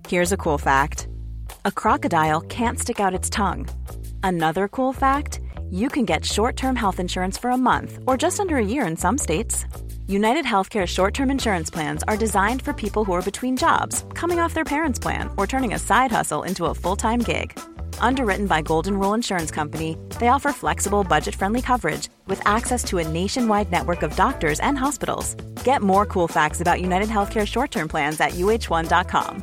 Here's a cool fact. A crocodile can't stick out its tongue. Another cool fact, you can get short-term health insurance for a month or just under a year in some states. United Healthcare short-term insurance plans are designed for people who are between jobs, coming off their parents' plan, or turning a side hustle into a full-time gig. Underwritten by Golden Rule Insurance Company, they offer flexible, budget-friendly coverage with access to a nationwide network of doctors and hospitals. Get more cool facts about United Healthcare short-term plans at uh1.com.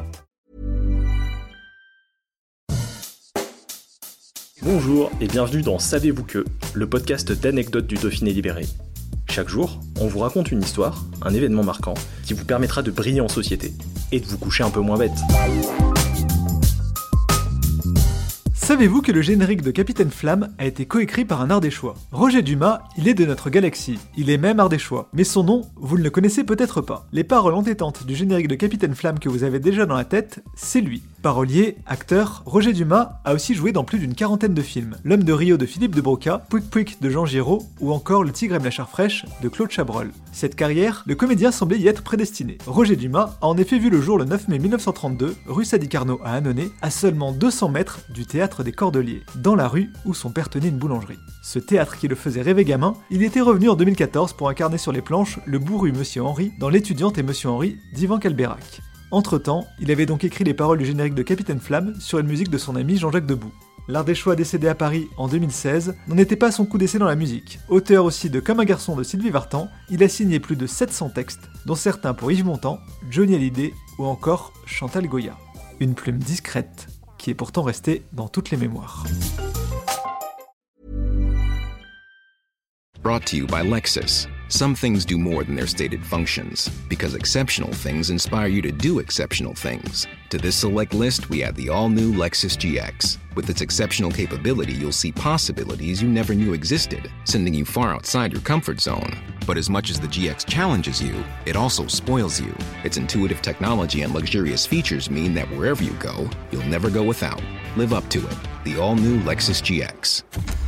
Bonjour et bienvenue dans Savez-vous que, le podcast d'anecdotes du Dauphiné libéré. Chaque jour, on vous raconte une histoire, un événement marquant, qui vous permettra de briller en société et de vous coucher un peu moins bête. Savez-vous que le générique de Capitaine Flamme a été coécrit par un Ardéchois ? Roger Dumas, il est de notre galaxie, il est même Ardéchois. Mais son nom, vous ne le connaissez peut-être pas. Les paroles entêtantes du générique de Capitaine Flamme que vous avez déjà dans la tête, c'est lui. Parolier, acteur, Roger Dumas a aussi joué dans plus d'une quarantaine de films. L'Homme de Rio de Philippe de Broca, Pouic Pouic de Jean Giraud ou encore Le Tigre aime la chair fraîche de Claude Chabrol. Cette carrière, le comédien semblait y être prédestiné. Roger Dumas a en effet vu le jour le 9 mai 1932, rue Sadi-Carnot à Annonay, à seulement 200 mètres du théâtre des Cordeliers, dans la rue où son père tenait une boulangerie. Ce théâtre qui le faisait rêver gamin, il était revenu en 2014 pour incarner sur les planches le bourru Monsieur Henri dans L'étudiante et Monsieur Henri d'Yvan Calbeyrac. Entre-temps, il avait donc écrit les paroles du générique de Capitaine Flamme sur une musique de son ami Jean-Jacques Debout. L'Ardéchois décédé à Paris en 2016 n'en était pas à son coup d'essai dans la musique. Auteur aussi de Comme un garçon de Sylvie Vartan, il a signé plus de 700 textes, dont certains pour Yves Montand, Johnny Hallyday ou encore Chantal Goya. Une plume discrète qui est pourtant restée dans toutes les mémoires. Brought to you by Lexus. Some things do more than their stated functions, because exceptional things inspire you to do exceptional things. To this select list, we add the all-new Lexus GX. With its exceptional capability, you'll see possibilities you never knew existed, sending you far outside your comfort zone. But as much as the GX challenges you, it also spoils you. Its intuitive technology and luxurious features mean that wherever you go, you'll never go without. Live up to it. The all-new Lexus GX.